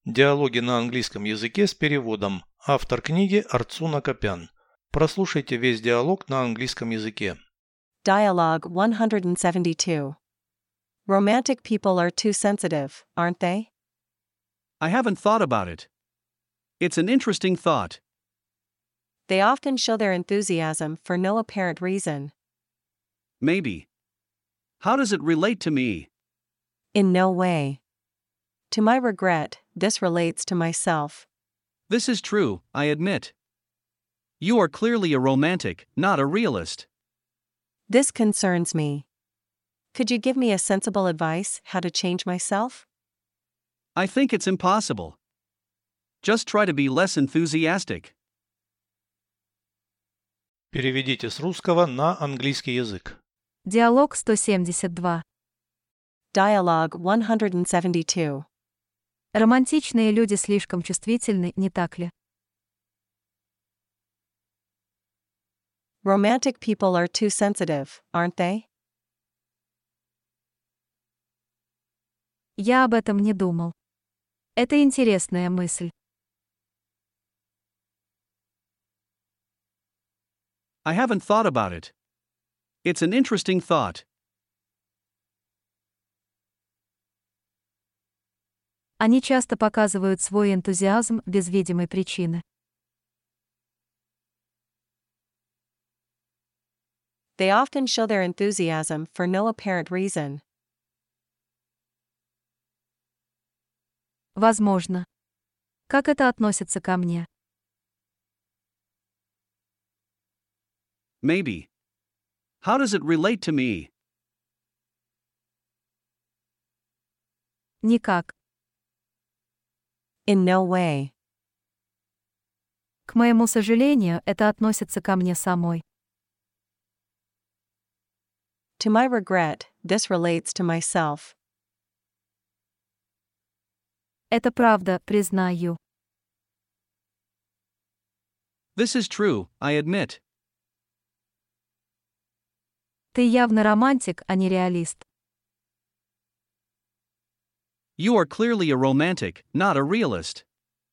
Диалоги на английском языке с переводом. Автор книги Арцуна Копян. Прослушайте весь диалог на английском языке. Dialogue 172. Romantic people are too sensitive, aren't they? I haven't thought about it. It's an interesting thought. They often show their enthusiasm for no apparent reason. Maybe. How does it relate to me? In no way. To my regret, this relates to myself. This is true, I admit. You are clearly a romantic, not a realist. This concerns me. Could you give me a sensible advice how to change myself? I think it's impossible. Just try to be less enthusiastic. Переведите с русского на английский язык. Диалог 172. Dialogue 172. Романтичные люди слишком чувствительны, не так ли? Romantic people are too sensitive, aren't they? Я об этом не думал. Это интересная мысль. I haven't thought about it. It's an interesting thought. Они часто показывают свой энтузиазм без видимой причины. They often show their enthusiasm for no apparent reason. Возможно. Как это относится ко мне? Maybe. How does it relate to me? Никак. In no way. К моему сожалению, это относится ко мне самой. To my regret, this relates to myself. Это правда, признаю. This is true, I admit. Ты явно романтик, а не реалист. You are clearly a romantic, not a realist.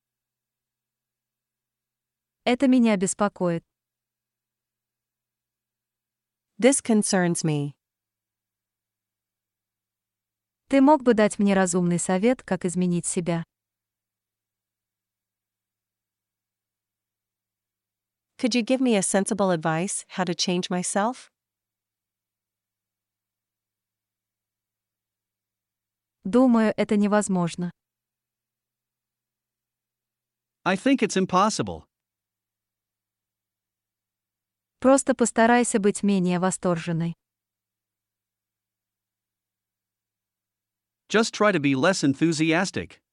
Это меня беспокоит. This concerns me. Ты мог бы дать мне разумный совет, как изменить себя? Could you give me a sensible advice how to change myself? Думаю, это невозможно. I think it's impossible. Просто постарайся быть менее восторженной. Just try to be less enthusiastic.